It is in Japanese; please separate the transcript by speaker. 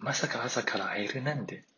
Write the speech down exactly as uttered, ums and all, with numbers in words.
Speaker 1: まさか朝から会えるなんて